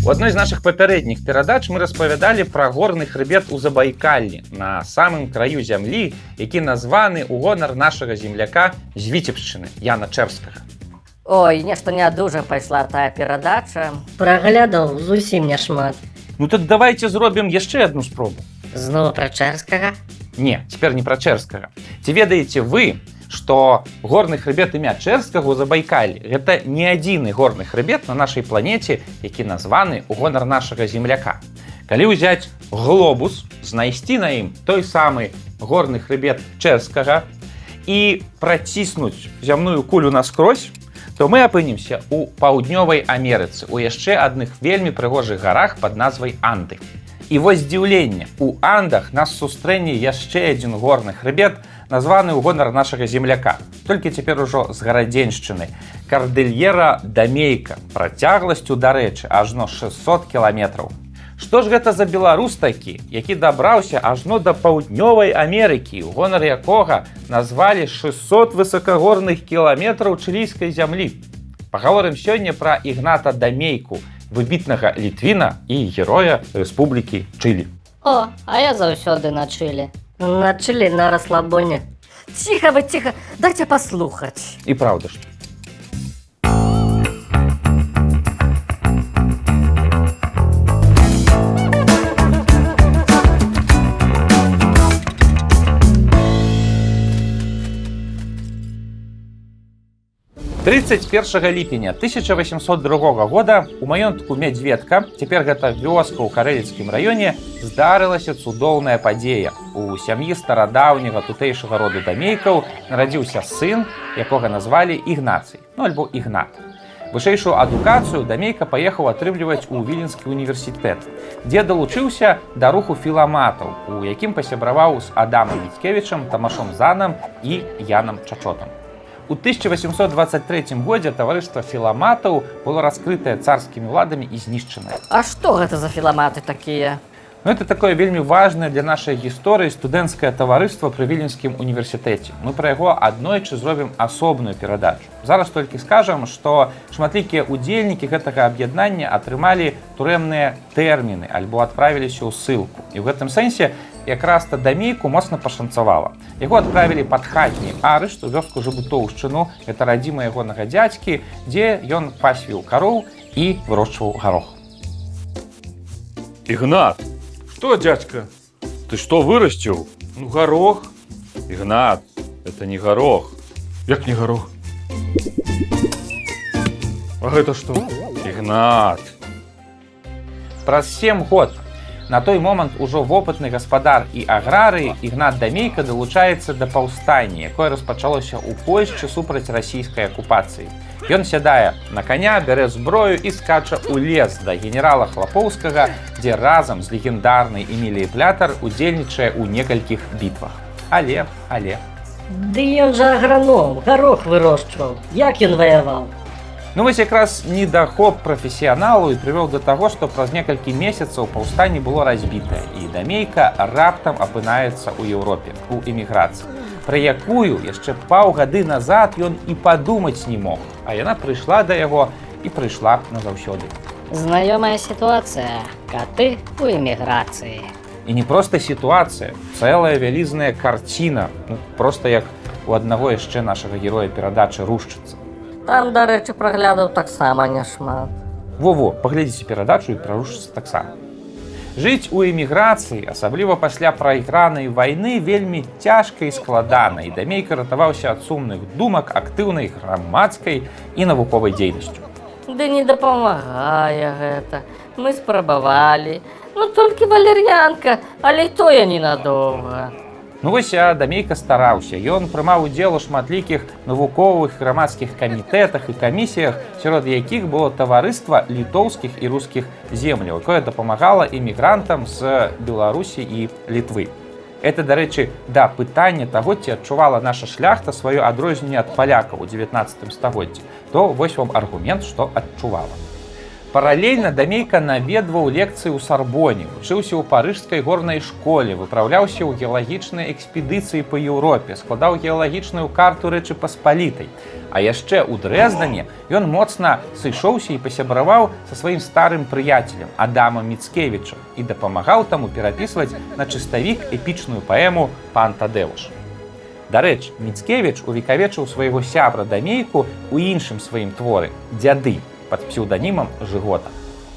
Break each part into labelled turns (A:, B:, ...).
A: У адной з нашых папярэдніх перадач мы распавядалі пра горны хрыбет у Забайкаллі, на самым краю зямлі, які названы ў гонар нашага земляка з Віцебшчыны, Яна Чэрскага.
B: Ой, нешта не дужа пайшла тая перадача.
C: Праглядаў зусім няшмат.
A: Ну так давайте зробім яшчэ адну спробу.
C: Зноў пра Чэрскага?
A: Не, цяпер не пра Чэрскага. Ці ведаеце вы, што горны хрыбет імя Чэрскага ў Забайкаллі – гэта не адзіны горны хрыбет на нашай планеце, які названы ў гонар нашага земляка. Калі ўзяць глобус, знайсці на ім той самы горны хрыбет Чэрскага і праціснуць зямную кулю наскрозь, то мы апынемся ў паўднёвай Амерыцы, у яшчэ адных вельмі прыгожых гарах пад назвай Анды. І вось здзіўленне, у Андах нас сустрэне яшчэ адзін горны хрыбет, названы ў гонар нашага земляка. Толькі цяпер ужо з Гарадзеншчыны. Кардыльера Дамейка, працягласцю, дарэчы, ажно 600 кіламетраў. Што ж гэта за беларус такі, які дабраўся ажно да паўднёвай Амерыкі, у гонар якога назвалі 600 высакагорных кіламетраў чылійскай зямлі? Пагаворым сёння пра Ігната Дамейку, выбітнага літвіна і героя Рэспублікі Чылі.
B: О, а я заўсёды на Чылі.
C: На Чылі, на расслабоне.
B: Ціха вы, ціха, дайце паслухаць.
A: І праўда ж. «31 ліпеня 1802 года у маёнтку Мядзведка, цяпер гэта вёска ў Карэліцкім раёне, здарылася цудоўная падзея. У сям'і старадаўняга тутэйшага роду Дамейкаў нарадзіўся сын, якога назвалі Ігнацый, ну альбо Ігнат. Вышэйшую адукацыю Дамейка паехаў атрымліваць у Віленскі універсітэт, дзе далучыўся да руху філаматаў, у якім пасябраваў з Адамам Міцкевічам, Тамашом Занам і Янам Чачотам. У 1823 годзе таварыства філаматаў было раскрытае царскімі ўладамі і знішчанае.
B: А што гэта за філаматы такія?
A: Ну, это такое вельмі важнае для нашай гісторыі студэнцкае таварыства пры Віленскім універсітэце. Мы пра яго аднойчы зробім асобную перадачу. Зараз толькі скажам, што шматлікія ўдзельнікі гэтага аб'яднання атрымалі турэмныя тэрміны альбо адправіліся ў ссылку. І ў гэтым сэнсе якраз-то Дамейку моцна пашанцавала. Яго адправілі пад хатні арышт у вёску Жабутоўшчыну, гэта радзіма ягонага дзядзькі, дзе ён пасвіў кароў і вырошчваў гарох.
D: Игнат! Что, дядька? Ты что вырастил? Ну, горох. Игнат, это не горох. Як не горох? А это что? Игнат!
A: Праз 7 год на той момант ужо вопытны гаспадар і аграрый Ігнат Дамейка далучаецца да паўстання, якое распачалося ў Польшчы супраць расійскай акупацыі. Ён сядае на каня, бярэ зброю і скача ў лес да генерала Хлапоўскага, дзе разам з легендарнай Эміліяй Плятар удзельнічае ў некалькіх бітвах. Але...
C: Ды ён жа аграном, гарох вырошчваў. Як ён ваяваў?
A: Ну вось якраз недахоп прафесіяналу і прывёў да таго, што праз некалькі месяцаў паўстанне было разбітае, і Дамейка раптам апынаецца ў Еўропе, у эміграцыі, пра якую яшчэ паўгады назад ён і падумаць не мог, а яна прыйшла да яго і прыйшла назаўсёды.
B: Знаёмая сітуацыя. Каты ў эміграцыі.
A: І не проста сітуацыя, цэлая вялізная карціна, проста як у аднаго яшчэ нашага героя перадачы «Рушчыца».
C: Там, дарэчы, праглядаў таксама няшмат.
A: Во-во, паглядзіце перадачу і пра «Рушчыца» таксама. Жыць у эміграцыі, асабліва пасля прайгранай вайны, вельмі цяжка і складана, і Дамейка ратаваўся ад сумных думак актыўнай грамадскай і навуковай дзейнасцю.
C: Ды не дапамагае гэта. Мы спрабавалі. Ну, толькі валер'янка, але і тое ненадоўга.
A: Ну вось, Дамейка стараўся. Ён прымаў удзел у шматлікіх навуковых грамадскіх камітэтах і камісіях, сярод якіх было таварыства літоўскіх і рускіх земляў, якое дапамагала эмігрантам з Беларусі і Літвы. Это, дарэчы, да пытання таго, ці адчувала наша шляхта сваё адрозненне ад палякаў у 19 стагоддзі. То вось вам аргумент, што адчувала. Паралельна Дамейка наведваў лекцыі ў Сарбоне, вучыўся ў парыжскай горнай школе, выпраўляўся ў геалагічныя экспедыцыі па Еўропе, складаў геалагічную карту Рэчы Паспалітай. А яшчэ ў Дрэздане ён моцна сышоўся і пасябраваў са сваім старым прыяцелем Адамам Міцкевічам і дапамагаў таму перапісваць на чыставік эпічную паэму «Пан Тадэуш». Дарэчы, Міцкевіч увекавечыў свайго сябра Дамейку ў іншым сваім творы «Дзяды» под псевдонимом Жигота.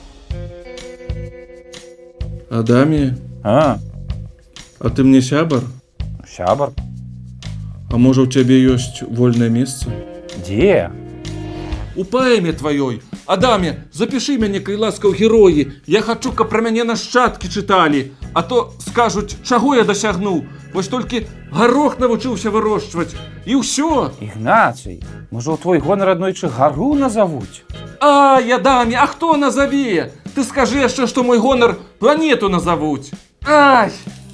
E: Адаме,
A: А
E: ты мне сябар?
A: Сябар?
E: А можа, у цябе ёсць вольнае месца?
A: Дзе?
E: У паэме тваёй. Адаме, запішы мяне, кай ласка, ў героі. Я хачу, каб пра мяне нашчадкі чыталі. А то скажуць, чаго я дасягнуў. Вось толькі гарох навучыўся вырошчваць. І ўсё.
A: Ігнацый, можа, у твой гонар аднойчы гару назавуць?
E: Ай, Адаме, а хто назаве? Ты скажы яшчэ, што мой гонар планету назавуць. Ай!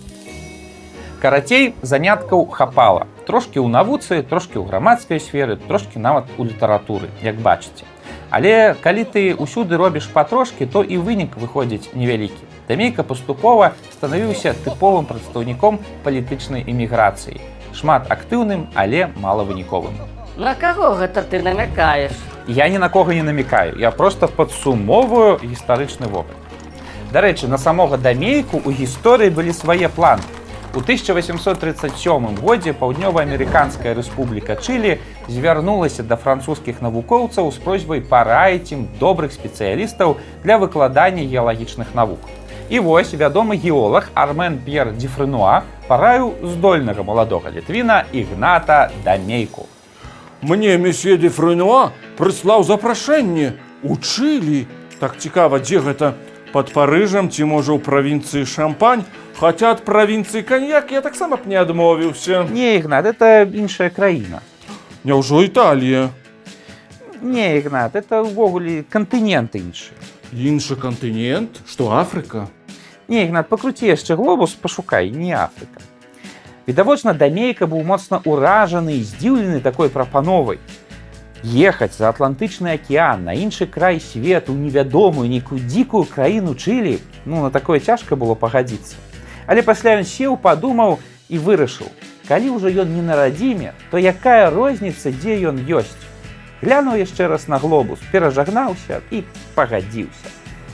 A: Карацей, заняткаў хапала. Трошкі ў навуцы, трошкі ў грамадскай сферы, трошкі нават у літаратуры, як бачыце. Але калі ты ўсюды робіш патрошкі, то і вынік выходзіць невялікі. Дамейка паступова станавіўся тыповым прадстаўніком палітычнай эміграцыі. Шмат актыўным, але малавыніковым.
C: На каго гэта ты намякаеш?
A: Я ні на кого не намекаю, я просто падсумоўваю гістарычны вопыт. Дарэчы, на самога Дамейку ў гісторыі былі свае планы. У 1837 годзе Паўднёва-амерыканская рэспубліка Чылі звярнулася да французскіх навукоўцаў з просьбай параіць ім добрых спецыялістаў для выкладання геалагічных навук. І вось вядомы геолаг Армен П'ер Дюфренуа параіў здольнага маладога літвіна Ігната Дамейку.
E: Мне месье Дюфренуа прыслаў запрашэнне у Чылі. Так цікава, дзе гэта? Пад Парыжам ці можа ў правінцыі Шампань? Хаця ад правінцыі Каньяк я таксама б не адмовіўся.
A: Не, Ігнат, это іншая краіна.
E: Няўжо Італія?
A: Не, Ігнат, это ўвогуле кантынент іншы.
E: Іншы кантынент? Што, Афрыка?
A: Не, Ігнат, пакруці яшчэ глобус, пашукай, не Афрыка. Відавочна, Дамейка быў моцна ўражаны і здзіўлены такой прапановай. Ехаць за Атлантычны акіян, на іншы край свету, невядомую, нейкую дзікую краіну Чылі, на такое цяжка было пагадзіцца. Але пасля ён сеў, падумаў і вырашыў, калі ўжо ён не на радзіме, то якая розніца, дзе ён ёсць? Глянуў яшчэ раз на глобус, перажагнаўся і пагадзіўся.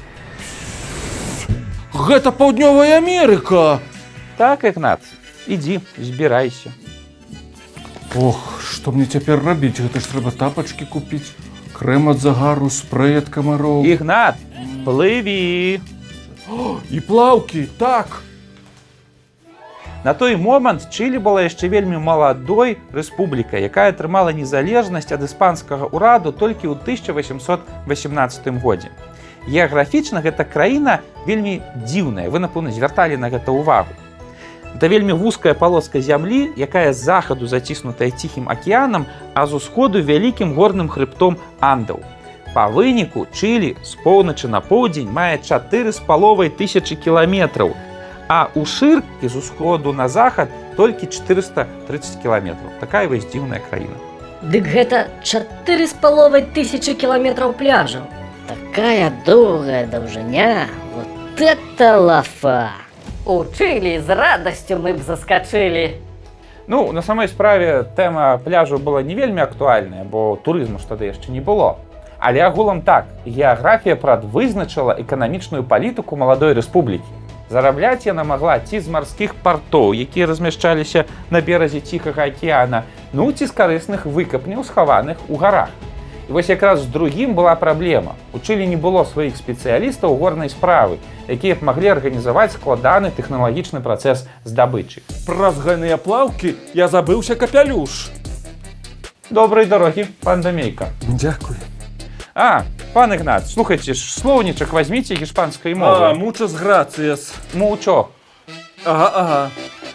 E: Гэта Паўднёвая Амерыка!
A: Так, Ігнат, ідзі, збірайся.
E: Ох, што мне цяпер рабіць? Гэта ж трэба тапачкі купіць, крэм ад загару, спрэй ад камароў.
A: Ігнат, плыві!
E: І плаўкі, так!
A: На той момант Чылі была яшчэ вельмі маладой рэспублікай, якая атрымала незалежнасць ад іспанскага ўраду толькі ў 1818 годзе. Геаграфічна гэта краіна вельмі дзіўная, вы, напэўна, звярталі на гэта ўвагу. Это вельмі вузкая палоска зямлі, якая з захаду заціснутая ціхім акіянам, а з усходу вялікім горным хрыбтом Андаў. Па выніку Чылі з поўначы на поўдзень мае 4,5 тысячы кіламетраў, а ў шыркі з усходу на захад толькі 430 кіламетраў. Такая вось дзіўная краіна.
F: Дык гэта 4,5 тысячи кіламетраў пляжаў.
B: Такая доўгая даўжыня, вот это лафа!
C: У Чылі з радасцю мы б заскачылі.
A: На самой справе тэма пляжу была не вельмі актуальная, бо турызму ж тады яшчэ не было. Але агулам так, геаграфія прадвызначыла эканамічную палітыку маладой рэспублікі. Зарабляць яна магла ці з марскіх партоў, якія размяшчаліся на беразе Ціхага акіяна, ці з карысных выкапняў, схаваных у гарах. І вось якраз з другім была праблема. У Чылі не было сваіх спецыялістаў горнай справы, якія б маглі арганізаваць складаны тэхналагічны працэс здабычы.
E: Праз гайныя плаўкі я забыўся капялюш.
A: Добрай дарогі, пан Дамейка.
E: Дзякуй.
A: Пан Ігнат, слухайце, слоўнічак вазьміце гішпанскай мовы.
E: Мучас грацыяс.
A: Мучо.
E: Ага.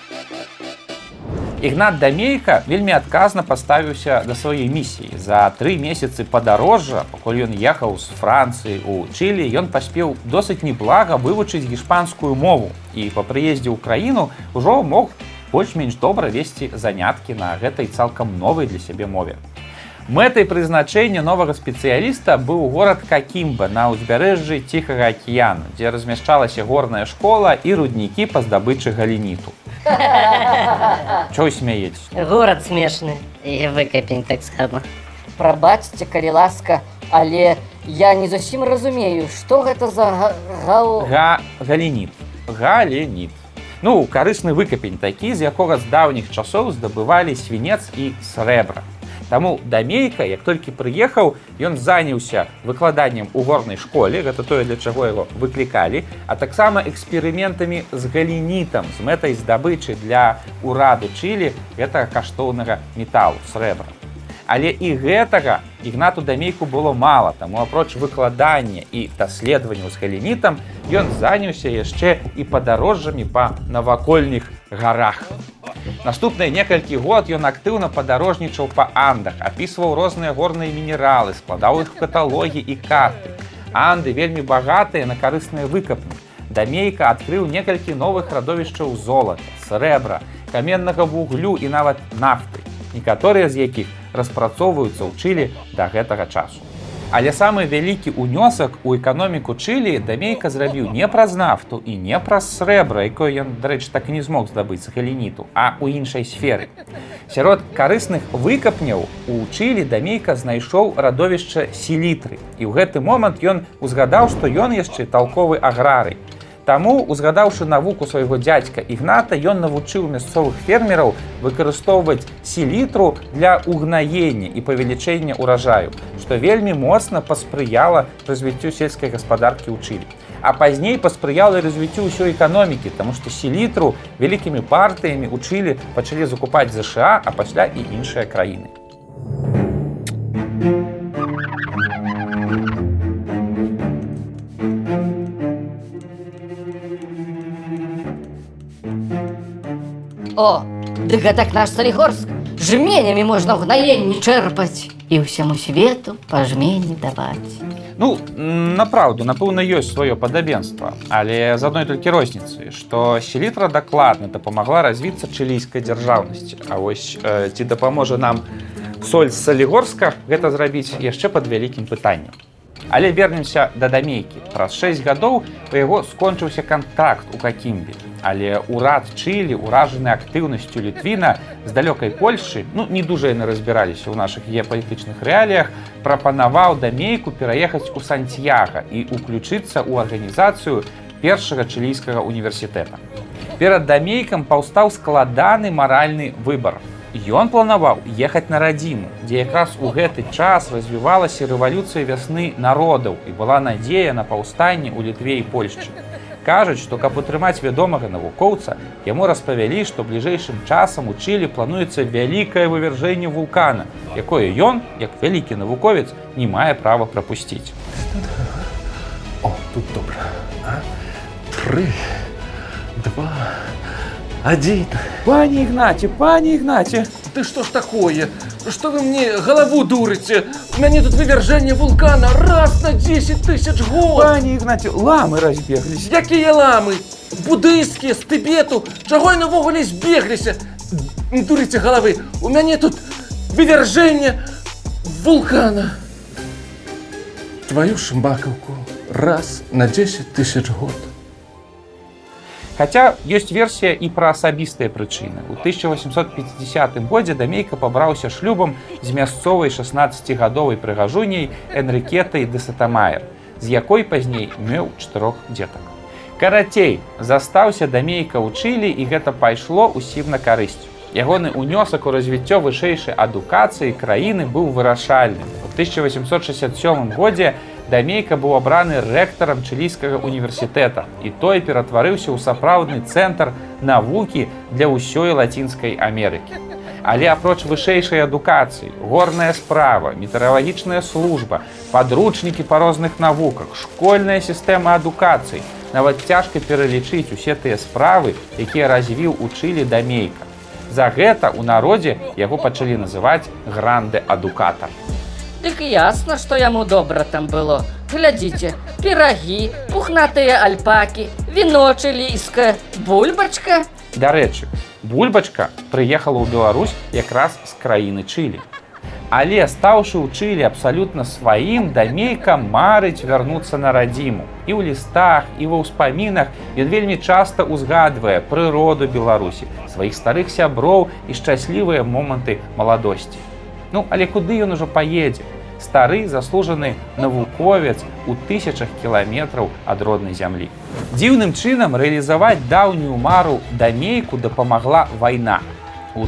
A: Ігнат Дамейка вельмі адказна паставіўся да сваёй місіі. За 3 месяцы падарожжа, пакуль ён ехаў з Францыі ў Чылі, ён паспеў досыць неблага вывучыць гішпанскую мову і па прыездзе ў краіну ўжо мог больш-менш добра весці заняткі на гэтай цалкам новай для сябе мове. Мэтай прызначэння новага спецыяліста быў горад Какімба на ўзбярэжжы Ціхага акіяну, дзе размяшчалася горная школа і руднікі па здабычы галініту. Чого смяецеся?
B: Горад смешны. І выкапень таксама.
C: Прабачце, калі ласка, але я не зусім разумею, што гэта за
A: Галініт. Галеніт. Ну, карысны выкапень такі, з якога з даўніх часоў здабывалі свінец і срэбра. Таму Дамейка, як толькі прыехаў, ён заняўся выкладаннем у горнай школе, гэта тое, для чаго яго выклікалі, а таксама эксперыментамі з галінітам, з мэтай здабычы для ўраду Чылі гэтага каштоўнага металу, срэбра. Але і гэтага Ігнату Дамейку было мала, таму апроч выкладання і даследаванняў з галінітам, ён заняўся яшчэ і падарожжамі па навакольных гарах. Наступныя некалькі год ён актыўна падарожнічаў па Андах, апісваў розныя горныя мінералы, складаў іх каталогі і карты. Анды вельмі багатыя на карысныя выкапні. Дамейка адкрыў некалькі новых радовішчаў золата, срэбра, каменнага вуглю і нават нафты, некаторыя з якіх распрацоўваюцца ў Чылі да гэтага часу. Але самы вялікі ўнёсак у эканоміку Чылі Дамейка зрабіў не праз нафту і не праз срэбра, якое ён, дарэчы, так і не змог здабыць з галініту, а ў іншай сферы. Сярод карысных выкапняў у Чылі Дамейка знайшоў радовішча селітры. І ў гэты момант ён узгадаў, што ён яшчэ талковы аграрый. Таму, узгадаўшы навуку свайго дзядзька Ігната, ён навучыў мясцовых фермераў выкарыстоўваць селітру для угнаення і павелічэння ўражаю, што вельмі моцна паспрыяла развіццю сельскай гаспадаркі ў Чылі. А пазней паспрыяла развіццю ўсёй эканомікі, таму што селітру вялікімі партыямі ў Чылі пачалі закупаць ЗША, а пасля і іншыя краіны.
C: О, дык гэтак наш Салігорск. Жменямі можна ўгнаенні чэрпаць і ўсяму свету па жмені даваць.
A: Ну, напраўду, напэўна, ёсць сваё падабенства, але з адной толькі розніцай, што селітра дакладна дапамагла развіцца чылійскай дзяржаўнасці. А вось ці дапаможа нам соль з Салігорска гэта зрабіць яшчэ пад вялікім пытаннем. Але вернемся да Дамейкі. Праз 6 гадоў у яго скончыўся кантракт у Какімбе. Але ўрад Чылі, уражаны актыўнасцю Літвіна з далёкай Польшчы, не дужа яны разбіраліся ў нашых геапалітычных рэаліях, прапанаваў Дамейку пераехаць у Сантьяга і ўключыцца ў арганізацыю першага чылійскага універсітэта. Перад Дамейкам паўстаў складаны маральны выбар. Ён планаваў ехаць на радзіму, дзе якраз у гэты час развівалася рэвалюцыя вясны народаў і была надзея на паўстанне ў Літве і Польшчы. Кажуць, што каб утрымаць вядомага навукоўца, яму распавялі, што бліжэйшым часам у Чылі плануецца вялікае вывяржэнне вулкана, якое ён, як вялікі навуковец, не мае права прапусціць.
E: О, тут добра. 3, 2, 1.
A: Пане Ігнаце!
E: Ты что ж такое? Что вы мне голову дурите? У меня тут вывержение вулкана раз на 10 тысяч год.
A: Пане Ігнаце, ламы разбегліся.
E: Якія ламы? Буддыйскія, з Тыбету. Чаго яны ўвогуле збегліся? Не дурите головы. У мяне тут вывержение вулкана. Твою шмбакаўку раз на 10 тысяч год.
A: Хаця ёсць версія і пра асабістыя прычыны. У 1850 годзе Дамейка пабраўся шлюбам з мясцовай 16-гадовай прыгажуняй Энрікетай де Сатамаер, з якой пазней меў 4 дзетак. Карацей, застаўся Дамейка ў Чылі, і гэта пайшло ўсім на карысць. Ягоны ўнёсак у развіццё вышэйшай адукацыі краіны быў вырашальным. У 1867 годзе Дамейка быў абраны рэктарам Чылійскага універсітэта, і той ператварыўся ў сапраўдны цэнтр навукі для ўсёй Лацінскай Амерыкі. Але апроч вышэйшай адукацыі, горная справа, метэаралагічная служба, падручнікі па розных навуках, школьная сістэма адукацыі, нават цяжка пералічыць усе тыя справы, якія развіў у Чылі Дамейка. За гэта ў народзе яго пачалі называць гранде-адукатар.
C: Дык ясна, што яму добра там было. Глядзіце, пірагі, пухнатыя альпакі, віно чылійскае, бульбачка.
A: Дарэчы, бульбачка прыехала ў Беларусь якраз з краіны Чылі. Але стаўшы ў Чылі абсалютна сваім, Дамейка марыць вярнуцца на радзіму. І ў лістах, і ва ўспамінах ён вельмі часта ўзгадвае прыроду Беларусі, сваіх старых сяброў і шчаслівыя моманты маладосці. Ну, але куды ён ужо паедзе? Стары заслужаны навуковец у тысячах кіламетраў ад роднай зямлі. Дзіўным чынам рэалізаваць даўнюю мару Дамейку дапамагла вайна. У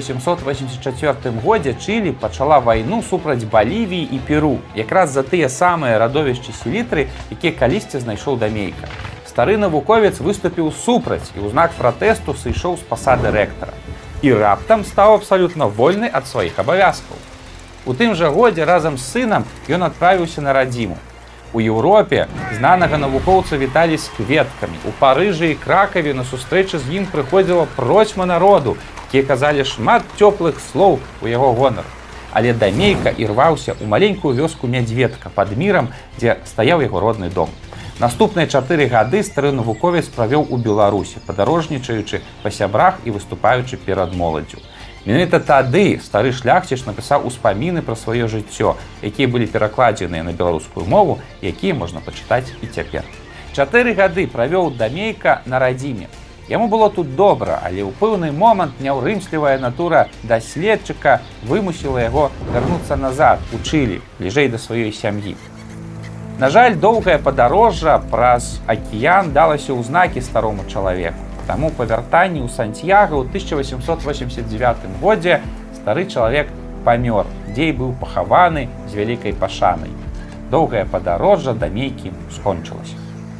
A: 1884 годзе Чылі пачала вайну супраць Балівіі і Перу, якраз за тыя самыя радовішчы селітры, якія калісьці знайшоў Дамейка. Стары навуковец выступіў супраць і ў знак пратэсту сышоў з пасады рэктара. І раптам стаў абсалютна вольны ад сваіх абавязкаў. У тым жа годзе разам з сынам ён адправіўся на радзіму. У Еўропе знанага навукоўца віталі з кветкамі. У Парыжы і Кракаве на сустрэчы з ім прыходзіла процьма народу, якія казалі шмат цёплых слоў у яго гонар. Але Дамейка ірваўся ў маленькую вёску Мядзведка пад Мірам, дзе стаяў яго родны дом. Наступныя 4 гады стары навуковец правёў у Беларусі, падарожнічаючы па сябрах і выступаючы перад моладдзю. Менавіта тады стары шляхціч напісаў успаміны пра сваё жыццё, якія былі перакладзеныя на беларускую мову, якія можна пачытаць і цяпер. 4 гады правёў Дамейка на радзіме. Яму было тут добра, але ў пэўны момант няўрымслівая натура даследчыка вымусіла яго вярнуцца назад у Чылі, бліжэй да сваёй сям'і. На жаль, доўгае падарожжа праз акіян далася ў знакі старому чалавеку. Таму па вяртанні ў Сантьяга ў 1889 годзе стары чалавек памёр, дзе і быў пахаваны з вялікай пашанай. Доўгае падарожжа Дамейкі скончылася.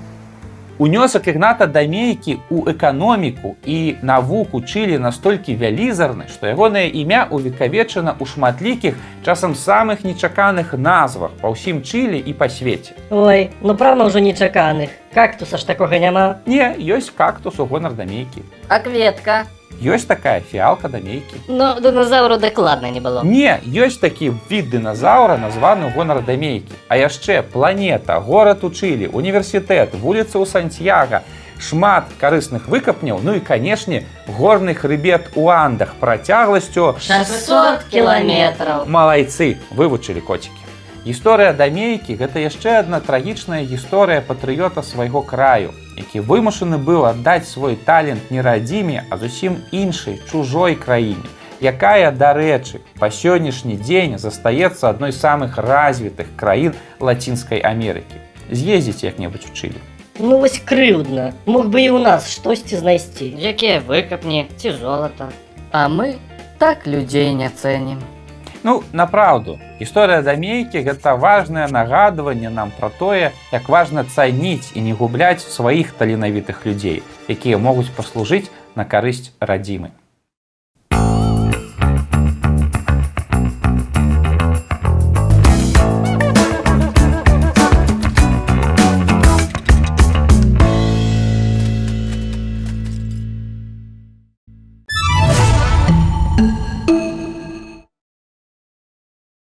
A: Унёсак Ігната Дамейкі ў эканоміку і навуку Чылі настолькі вялізарны, што ягонае імя увекавечана ў шматлікіх, часам самых нечаканых назвах па ўсім Чылі і па свеце.
F: Ой, ну правда ўжо нечаканых. Кактуса ж такога няма.
A: Не, ёсць кактус у гонар Дамейкі.
C: А кветка?
A: Ёсць такая фіалка Дамейкі.
B: Ну, динозавру дакладна не было.
A: Не, ёсць такі від дыназаўра, названы ў гонар Дамейкі. А яшчэ планета, горад у Чылі, універсітэт, вуліца ў Сантьяга, шмат карысных выкапняў, ну і, канешне, горны хрыбет у Андах працягласцю
B: 600 кілометраў.
A: Малайцы, вывучылі коцікі. Гісторыя Дамейкі – гэта яшчэ адна трагічная гісторыя патрыёта свайго краю, які вымушаны быў аддаць свой талент не радзіме, а зусім іншай, чужой краіне, якая, дарэчы, па сённяшні дзень застаецца адной з самых развітых краін Лацінскай Амерыкі. З'ездзіце як-небудзь у Чылі.
F: Ну вось крыўдна. Мог бы і ў нас штосьці знайсці.
C: Якія выкапні ці золата. А мы так людзей не цэнім.
A: Ну, направду, гісторыя Дамейкі – гэта важнае нагадванне нам пра тое, як важна цаніць і не губляць сваіх таленавітых людзей, якія могуць паслужыць на карысць радзімы.